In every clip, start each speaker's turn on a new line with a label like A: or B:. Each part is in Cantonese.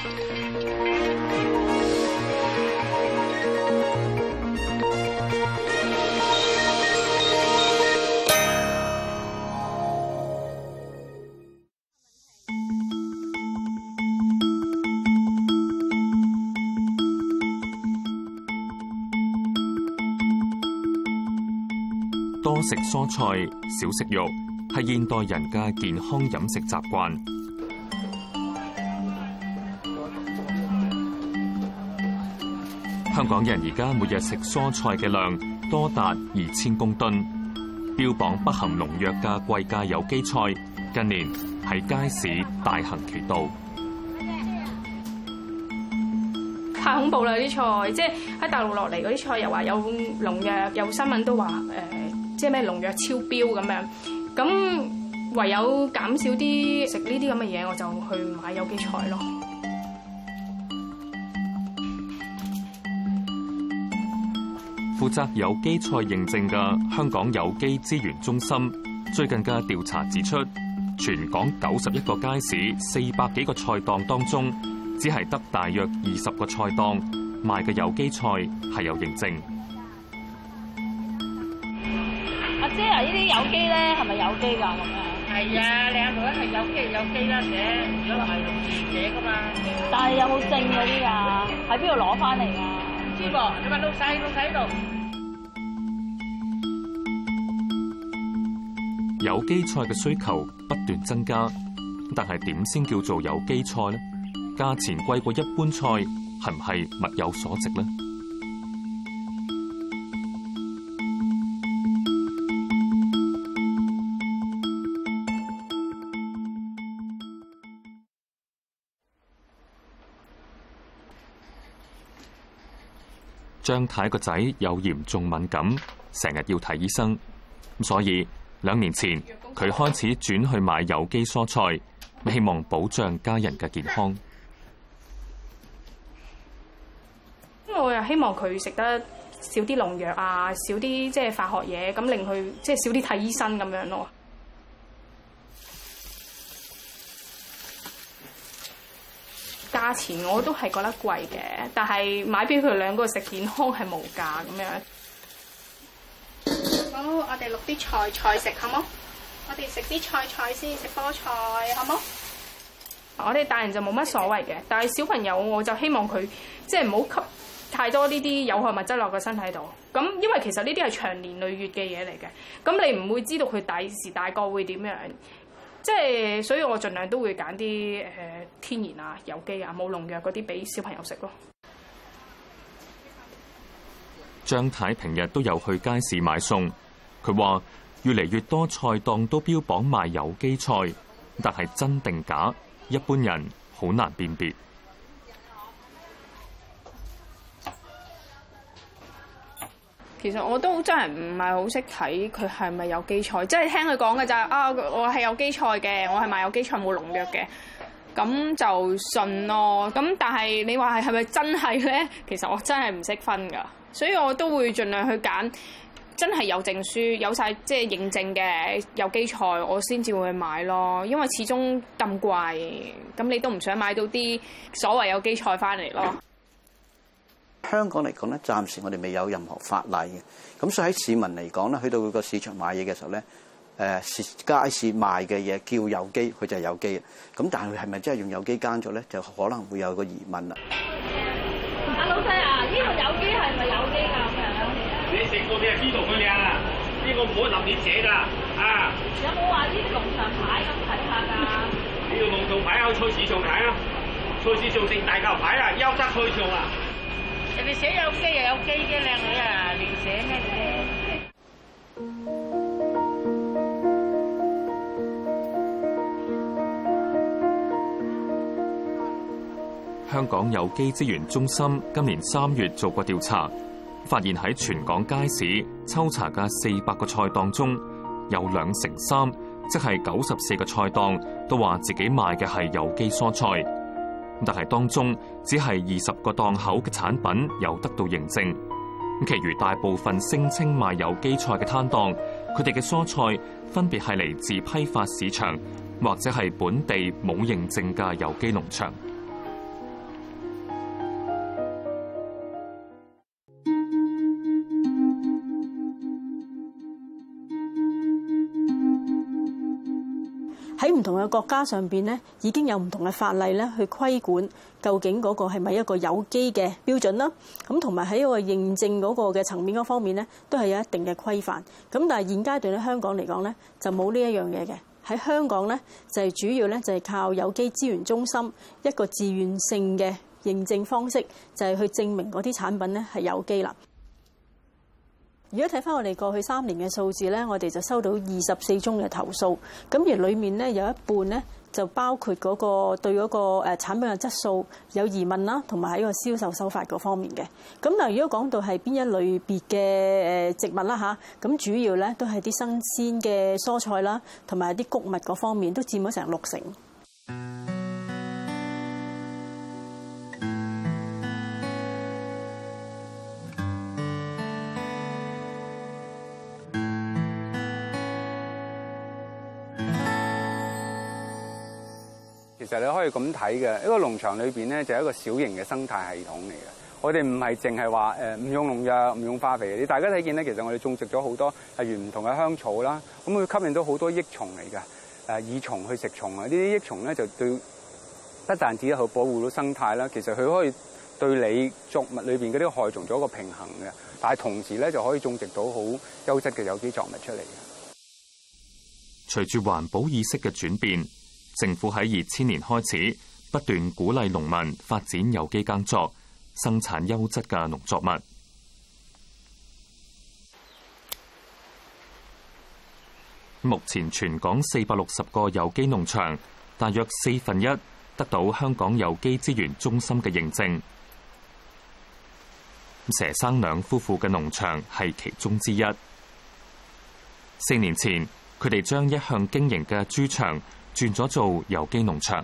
A: 多食蔬菜，少食肉，係現代人嘅健康飲食習慣。香港人而家每日食蔬菜嘅量多達2000公噸，標榜不含農藥嘅貴價有機菜，近年喺街市大行其道。
B: 太恐怖啦！啲菜即係喺大陸落嚟嗰啲菜，又話有農藥，有新聞都話即係咩農藥超標咁樣。咁唯有減少啲食呢啲咁嘅嘢，我就去買有機菜咯。
A: 負責有機菜認證嘅香港有機資源中心最近嘅調查指出，全港91個街市400幾個菜檔當中，只係得大約20個菜檔賣嘅有機菜係有認證。
C: 阿姐啊，呢啲有機咧係咪有機㗎咁樣？
D: 係啊，靚女係有機啦，寫如果係用自寫㗎嘛。
C: 但係有冇證嗰啲㗎？喺邊度攞翻嚟㗎？
D: 唔知噃，你問老細喺度。
A: 有機菜嘅需求不斷增加，但係點先叫做有機菜呢？價錢貴過一般菜，係唔係物有所值呢？張太個仔有嚴重敏感，成日要睇醫生，所以2年前佢開始轉去買有機蔬菜，希望保障家人嘅健康。
B: 我又希望佢食得少啲農藥啊，少啲即係化學嘢，咁令佢即係少啲睇醫生咁樣咯。價錢我都係覺得貴嘅，但係買俾佢兩個食健康係無價咁樣。好，我哋錄啲菜食好冇？我哋食啲菜先，食菠菜好冇？我哋大人就冇乜所謂嘅，但係小朋友我就希望佢即係唔好吸太多呢啲有害物質落個身體度。咁因為其實呢啲係長年累月嘅嘢嚟嘅，咁你唔會知道佢第時大個會點樣。即係，所以我盡量都會揀啲天然啊、有機啊、冇農藥嗰啲俾小朋友食咯。
A: 張太平日都有去街市買餸，佢話越嚟越多菜檔都標榜賣有機菜，但係真定假，一般人好難辨別。
B: 其實我都真係唔係好識睇佢係咪有機菜，即係聽佢講嘅就係啊，我係有機菜嘅，我係賣有機菜冇農藥嘅，咁就信咯。咁但係你話係咪真係咧？其實我真係唔識分㗎，所以我都會盡量去揀真係有證書、有晒即係認證嘅有機菜，我先至會去買咯。因為始終咁貴，咁你都唔想買到啲所謂有機菜翻嚟咯。
E: 香港嚟講咧，暫時我哋未有任何法例嘅，咁所以喺市民嚟講咧，去到個市場買嘢嘅時候咧，街市賣嘅嘢叫有機，佢就係有機嘅。咁但係佢係咪真係用有機耕作咧，就可能會有個疑問啦。
C: 阿老細啊，呢個有機係咪有機㗎咁樣？
F: 你食過你係知道佢靚啊？呢個唔可以立亂寫㗎啊！
C: 有冇話啲農場牌咁睇下㗎？
F: 呢個農場牌去菜市場睇啊！菜市場成大嚿牌啊，優質菜場啊！
D: 人哋寫有機又有機嘅，靚女啊，亂寫咩啫？
A: 香港有機資源中心今年3月做過調查，發現喺全港街市抽查嘅400個菜檔中，有3/2，即係94個菜檔都話自己賣嘅係有機蔬菜。但係當中只係20個檔口嘅產品有得到認證，其餘大部分聲稱賣有機菜嘅攤檔，佢哋嘅蔬菜分別係嚟自批發市場或者係本地冇認證嘅有機農場。
G: 唔同嘅國家上邊咧，已經有唔同嘅法例咧去規管究竟嗰個係咪一個有機嘅標準啦。咁同埋喺一個認證嗰個嘅層面嗰方面咧，都係有一定嘅規範。咁但係現階段咧，香港嚟講咧就冇呢一樣嘢嘅。喺香港咧就係主要咧就係靠有機資源中心一個自願性嘅認證方式，就係去證明嗰啲產品咧係有機啦。如果睇翻我哋過去3年嘅數字咧，我哋就收到24宗嘅投訴，咁而裡面咧有一半咧就包括嗰個對嗰個產品嘅質素有疑問啦，同埋喺個銷售手法嗰方面嘅。咁嗱，如果講到係邊一類別嘅植物啦嚇，咁主要咧都係啲新鮮嘅蔬菜啦，同埋啲穀物嗰方面都佔咗成60%。
H: 其實你可以咁睇嘅，一個農場裏邊咧就係一個小型嘅生態系統嚟嘅。我哋唔係淨係話唔用農藥、唔用化肥。你大家睇見咧，其實我哋種植咗好多例如唔同嘅香草啦，咁會吸引到好多益蟲嚟嘅，益蟲去食蟲啊！呢啲益蟲咧就對不但止去保護到生態啦，其實佢可以對你作物裏邊嗰啲害蟲做一個平衡嘅，但係同時咧就可以種植到好優質嘅有機作物出嚟嘅。
A: 隨住環保意識嘅轉變，政府喺2000年開始不斷鼓勵農民發展有機耕作，生產優質嘅農作物。目前全港460個有機農場，大約1/4得到香港有機資源中心嘅認證。佘生兩夫婦嘅農場係其中之一。4年前，佢哋將一向經營嘅豬場轉咗做有機農場。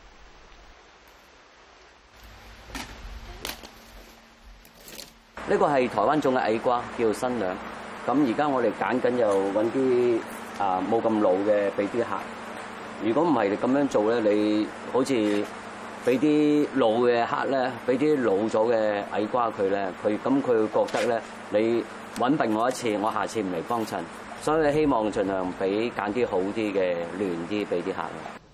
I: 呢個係台灣種嘅矮瓜，叫做新娘。咁而家我哋揀緊又揾啲冇咁老嘅俾啲客。如果唔係你咁樣做咧，你好似俾啲老嘅客咧，俾啲老咗嘅矮瓜佢咧，佢會覺得咧，你揾笨我一次，我下次唔嚟幫襯。所以希望盡量俾揀啲好啲嘅嫩啲俾啲客。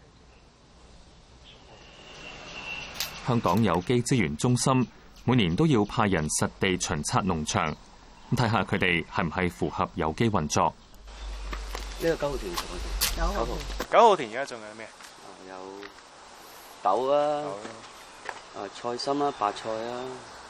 A: 香港有機資源中心每年都要派人實地巡察農場，睇下佢哋係唔係符合有機運作。
I: 呢個9號田
J: 9號田而家仲有咩？
I: 有豆啊，菜心啦，白菜啊。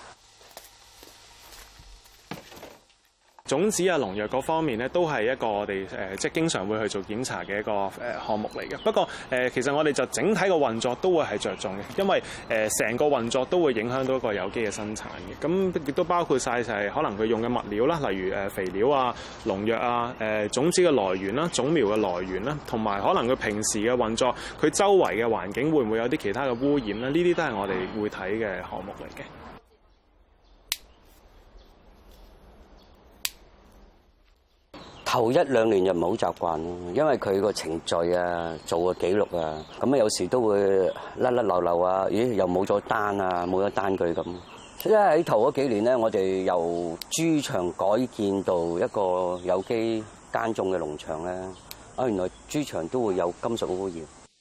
J: 種子啊、農藥嗰方面咧，都係一個我哋即係經常會去做檢查嘅一個項目嚟嘅。不過其實我哋就整體個運作都會係着重嘅，因為成個運作都會影響到一個有機嘅生產嘅。咁亦都包括晒就係可能佢用嘅物料啦，例如肥料啊、農藥啊、種子嘅來源啦、種苗嘅來源啦，同埋可能佢平時嘅運作，佢周圍嘅環境會唔會有啲其他嘅污染咧？呢啲都係我哋會睇嘅項目嚟嘅。
I: 頭1-2年就唔係好習慣咯，因為佢個程序啊、做個記錄啊，咁有時都會甩漏漏啊，咦又冇咗單啊，冇咗單據咁。因為喺頭嗰幾年咧，我哋由豬場改建到一個有機耕種嘅農場咧，原來豬場都會有金屬污染。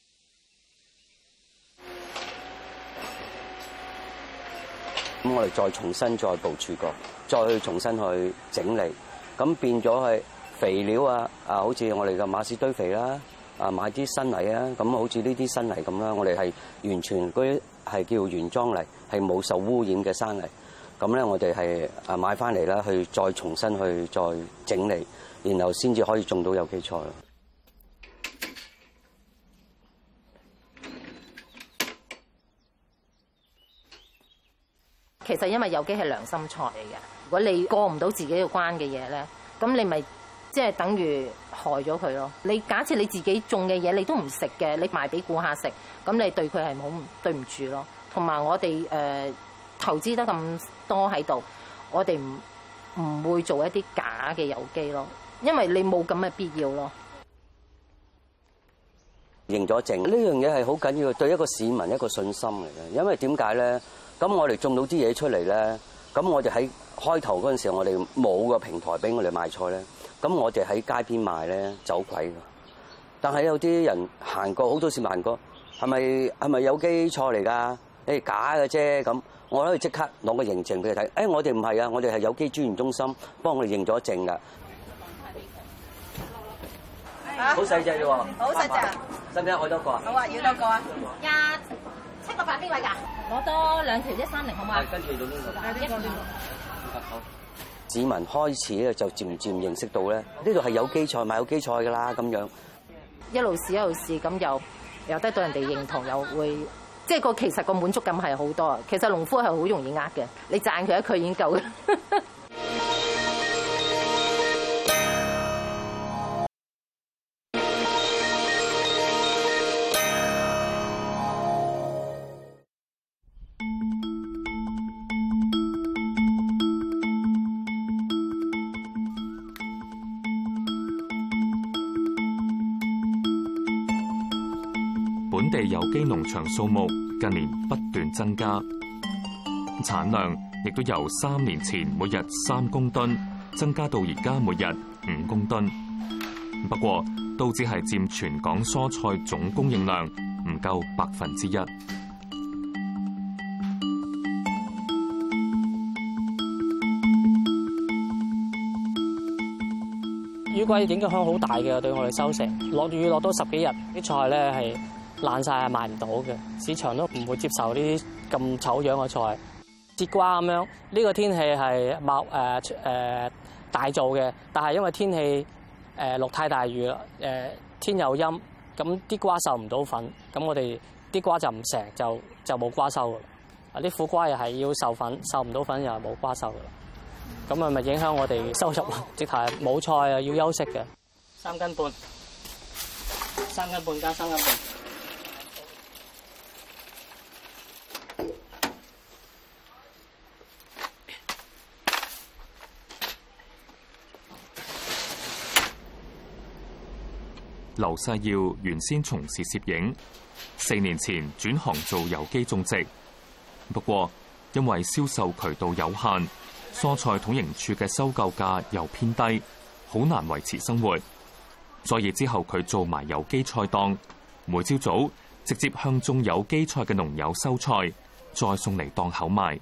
I: 咁我哋再重新再部署過，再去重新去整理，咁變咗係。肥料好似我哋嘅馬屎堆肥啦，買啲新泥啊，咁好似呢啲新泥咁啦，我哋係完全嗰啲係叫原裝泥，係冇受污染嘅生泥。咁咧，我哋係買翻嚟啦，去再重新去再整理，然後先至可以種到有機菜。
K: 其實因為有機係良心菜嚟嘅，如果你過唔到自己嘅關嘅嘢咧，咁你咪即係等於害咗佢咯。你假設你自己種嘅嘢你都唔食嘅，你賣俾顧客食，咁你對佢係好對唔住咯。同埋我哋投資得咁多喺度，我哋唔會做一啲假嘅有機咯，因為你冇咁嘅必要咯。
I: 認咗證呢樣嘢係好緊要，對一個市民一個信心嚟嘅。因為點解咧？咁我哋種到啲嘢出嚟咧，咁我哋喺開頭嗰陣時候，我哋冇個平台俾我哋賣菜咧。咁我哋喺街邊賣咧，走鬼㗎。 但係有啲人行過，好多市民行過，係咪有機菜嚟㗎？誒假嘅啫咁，我可以即刻攞個認證俾佢睇。誒我哋唔係啊，我哋係有機專員中心幫我哋認咗證㗎。好細隻啫喎，
K: 好細隻，
I: 使唔使愛多個啊？
K: 好啊，要多個啊，27個8邊位㗎？攞多2條130好嘛？
I: 跟住到呢個。好。市民開始咧就漸漸認識到咧，呢度係有機菜賣有機菜㗎啦咁樣。
K: 一路試咁又得到人哋認同，又會即係其實個滿足感係好多。其實農夫係好容易呃嘅，你讚佢一句已經夠嘅。
A: 本地有機農場數目近年不斷增加，產量亦都由3年前每日3公噸增加到而家每日5公噸。不過都只係佔全港蔬菜總供應量唔夠1%。
L: 雨季影響好大嘅，對我哋收成。落雨落多10幾日，啲菜咧係爛晒，係賣唔到嘅，市場都唔會接受呢啲咁醜樣嘅菜。節瓜咁樣，呢個天氣係大做嘅，但係因為天氣落太大雨啦，天又陰，咁啲瓜受唔到粉，咁我哋啲瓜就唔成，就冇瓜收㗎啦。啲苦瓜又係要受粉，受唔到粉又係冇瓜收㗎啦。咁咪影響我哋收入，直頭係冇菜啊，要休息嘅。3斤半加3斤半。
A: 劉世耀原先從事攝影，4年前轉行做有機種植。不過因為銷售渠道有限，蔬菜統營處嘅收購價又偏低，好難維持生活。所以之後佢做埋有機菜檔，每朝早直接向種有機菜嘅農友收菜，再送嚟檔口賣。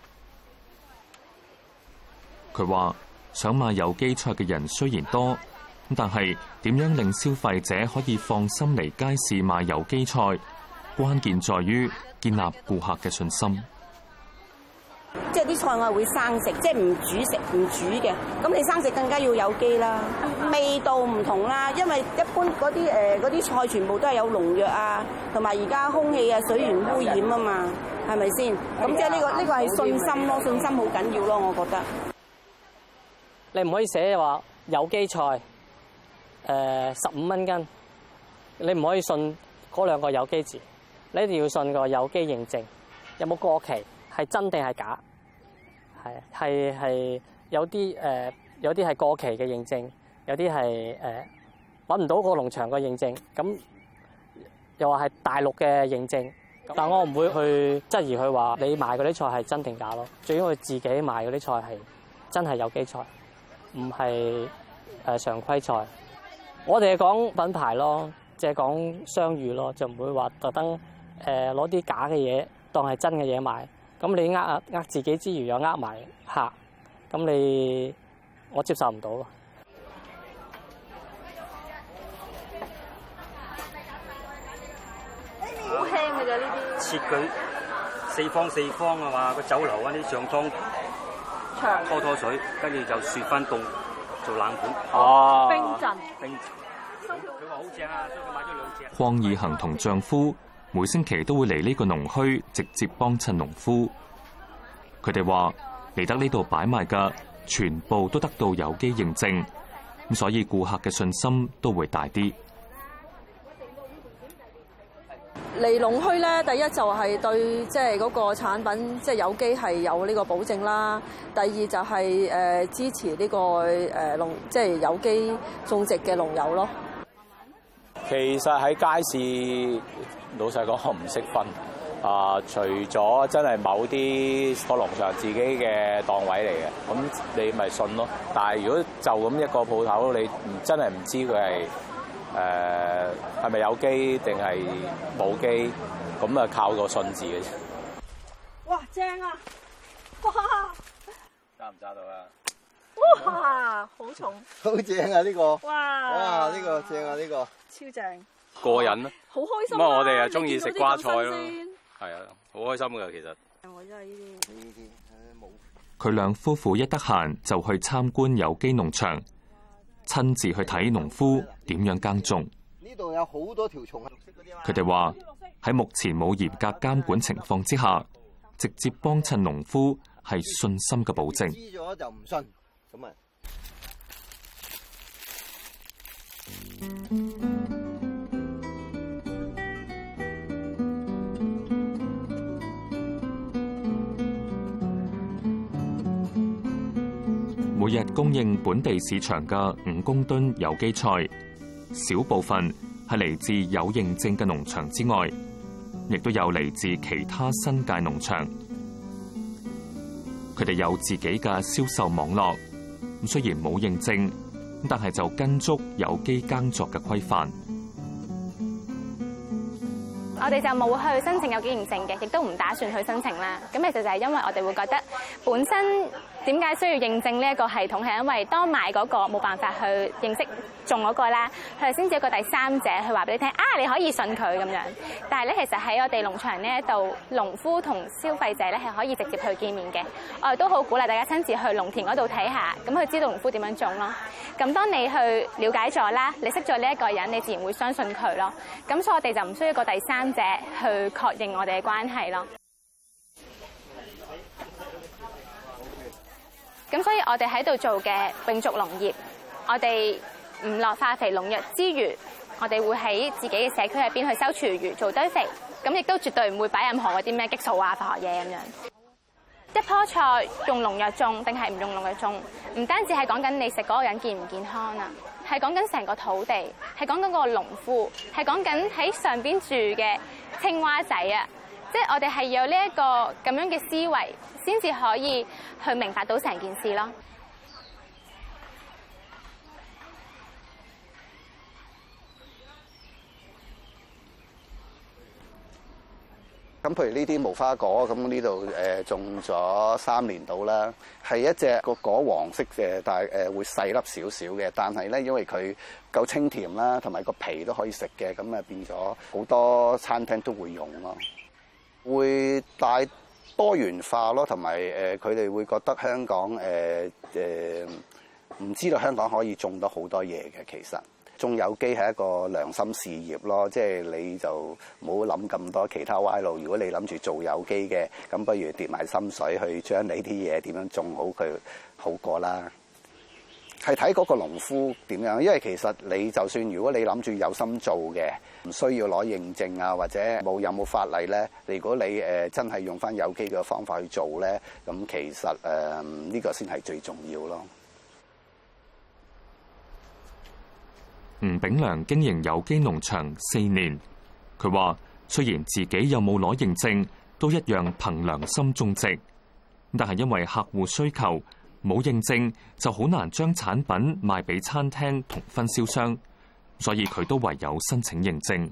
A: 佢話想買有機菜嘅人雖然多，但係點樣令消費者可以放心嚟街市買有機菜，關鍵在於建立顧客嘅信心。
M: 即係啲菜我係會生食，即係唔煮嘅。咁你生食更加要有機啦，味道唔同啦。因為一般嗰啲菜全部都係有農藥啊，同埋而家空氣啊、水源污染啊嘛，係咪先？咁即係呢個係信心咯，信心好緊要咯，我覺得。
L: 你唔可以寫話有機菜15蚊斤，你唔可以信嗰2個有機字，你一定要信個有機認證，有冇過期，係真定係假？係有啲係過期嘅認證，有啲係揾唔到個農場嘅認證，咁又話係大陸嘅認證，但我唔會去質疑佢話你賣嗰啲菜係真定假咯。最緊要佢自己賣嗰啲菜係真係有機菜，唔係常規菜。我哋係講品牌咯，即係講商譽咯，就唔會話特登攞啲假嘅嘢當係真嘅嘢賣。咁你呃自己之餘又呃埋客，咁我接受唔到咯。
C: 好輕嘅啫呢啲。
N: 切佢4方啊嘛，個酒樓嗰啲上湯拖水，跟住就雪翻凍做冷盤。
C: 哦，冰鎮。
N: 佢話好正啊，所以佢買咗2隻。
A: 鄺義衡同丈夫每星期都會嚟呢個農墟直接幫襯農夫。佢哋話嚟得呢度擺賣嘅全部都得到有機認證，咁所以顧客嘅信心都會大啲。
G: 嚟農墟咧，第一就係對即係嗰個產品即係有機係有呢個保證啦。第二就係支持呢個即係有機種植嘅農友咯。
O: 其實喺街市，老實講我唔識分除咗真係某啲個農場自己嘅檔位嚟嘅，咁你咪信咯。但係如果就咁一個鋪頭，你真係唔知佢係係咪有機定係冇機，咁啊靠個信字嘅啫。
C: 哇，正啊！哇，
O: 揸唔揸到啊？
C: 哇，好重，
E: 好正啊！呢個
C: 哇，
E: 呢個正啊！呢個
C: 超正，
O: 過癮啊！
C: 好開心。
O: 咁啊，我哋啊中意食瓜菜咯，
C: 係
O: 係啊，好開心㗎其實。
C: 我真係呢啲冇。
A: 佢兩夫婦一得閒就去參觀有機農場，親自去睇農夫點樣耕種。
E: 呢度有好多條蟲。
A: 佢哋話喺目前冇嚴格監管情況之下，直接幫襯農夫係信心嘅保證。
E: 知咗就唔信，咁啊。
A: 每日供應本地市場嘅5公噸有機菜，少部分係嚟自有認證嘅農場之外，亦都有嚟自其他新界農場。佢哋有自己嘅銷售網絡，雖然冇認證，但係就跟足有機耕作嘅規範。
P: 我哋就冇去申請有機認證嘅，亦都唔打算去申請啦。咁其實就係因為我哋會覺得本身點解需要認證呢一個系統，係因為當買嗰個冇辦法去認識種嗰個啦，佢哋先至有個第三者去話俾你聽啊，你可以信佢咁樣。但係咧，其實喺我哋農場呢一度，農夫同消費者咧係可以直接去見面嘅。我哋都好鼓勵大家親自去農田嗰度睇下，咁去知道農夫點樣種咯。咁當你去了解咗啦，你識咗呢一個人，你自然會相信佢咯。咁所以我哋就唔需要個第三者去確認我哋嘅關係咯。咁所以我哋喺度做嘅永續農業，我哋唔落化肥農藥之餘，我哋會喺自己嘅社區入邊去收廚餘做堆肥，咁亦都絕對唔會擺任何嗰啲咩激素啊、化學嘢咁樣。一棵菜用農藥種定係唔用農藥種，唔單止係講緊你食嗰個人健唔健康啊，係講緊成個土地，係講緊個農夫，係講緊喺上邊住嘅青蛙仔啊！即係我哋係有呢一個咁樣嘅思維，先至可以去明白到成件事咯。
E: 咁譬如呢啲無花果，咁呢度種咗3年到啦，係一隻個果黃色嘅，但係會細粒少少嘅，但係咧因為佢夠清甜啦，同埋個皮都可以食嘅，咁啊變咗好多餐廳都會用咯。會帶多元化咯，同埋佢哋會覺得香港唔知道香港可以種到好多嘢嘅。其實種有機係一個良心事業咯，即係你就唔好諗咁多其他歪路。如果你諗住做有機嘅，咁不如跌埋心水去將你啲嘢點樣種好佢好過啦。係睇嗰個農夫點樣，因為其實你就算如果你諗住有心做嘅，唔需要攞認證啊，或者有冇法例咧。如果你真係用翻有機嘅方法去做咧，咁其實呢個先係最重要咯。
A: 吳炳良經營有機農場4年，佢話雖然自己有冇攞認證，都一樣憑良心種植，但係因為客戶需求，冇認證就好難將產品賣俾餐廳同分銷商，所以佢都唯有申請認證。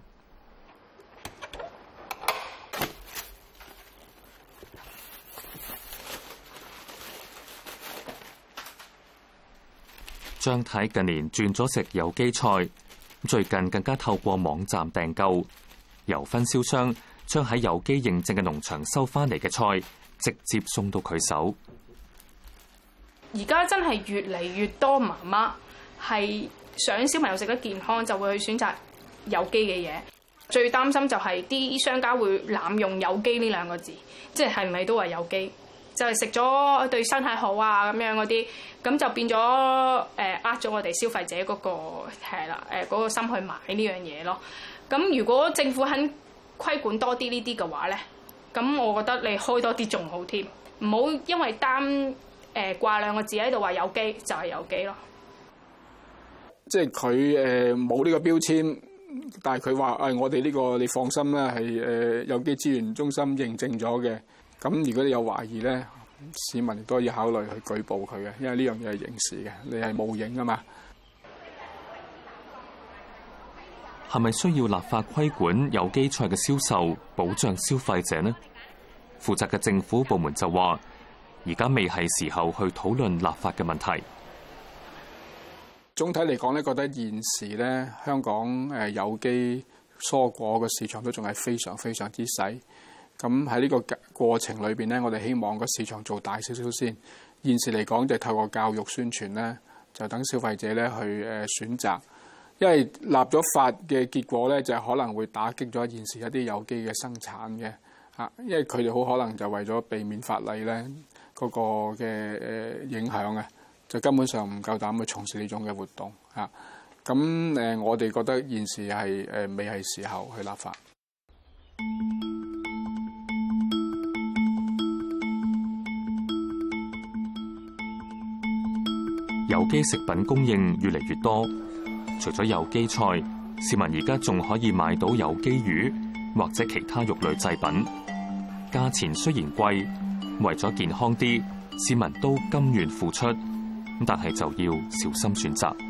A: 張太近年轉咗食有機菜，最近更加透過網站訂購，由分銷商將喺有機認證嘅農場收翻嚟嘅菜，直接送到佢手。
B: 而家真係越嚟越多媽媽係想小朋友食得健康，就會去選擇有機嘅嘢。最擔心就係啲商家會濫用有機呢2個字，即係係咪都話有機？就係食咗對身體好啊咁樣嗰啲，咁就變咗呃咗我哋消費者嗰個係啦嗰個心去買呢樣嘢咯。咁如果政府肯規管多啲呢啲嘅話咧，咁我覺得你開多啲仲好添，唔好因為掛2個字喺度話有機就係有機咯。
Q: 即係佢冇呢個標籤，但係佢話我哋呢個你放心啦，係有機資源中心認證咗嘅。咁如果你有懷疑咧，市民亦都可以考慮去舉報佢嘅，因為呢樣嘢係刑事嘅，你係冒認啊嘛。
A: 係咪需要立法規管有機菜嘅銷售，保障消費者呢？負責嘅政府部門就話，而家未係時候去討論立法嘅問題。
Q: 總體嚟講咧，覺得現時咧香港有機蔬果嘅市場都仲係非常非常之細。咁喺呢個過程裏邊咧，我哋希望個市場做大少少先。現時嚟講就透過教育宣傳咧，就等消費者咧去選擇。因為立咗法嘅結果咧，就可能會打擊咗現時一啲有機嘅生產嘅嚇，因為佢哋好可能就為咗避免法例咧嗰個嘅影響啊，就根本上唔夠膽去從事呢種嘅活動嚇。咁我哋覺得現時係未係時候去立法。
A: 有機食品供應越嚟越多，除咗有機菜，市民而家仲可以買到有機魚或者其他肉類製品。價錢雖然貴，為咗健康啲，市民都甘願付出，但係就要小心選擇。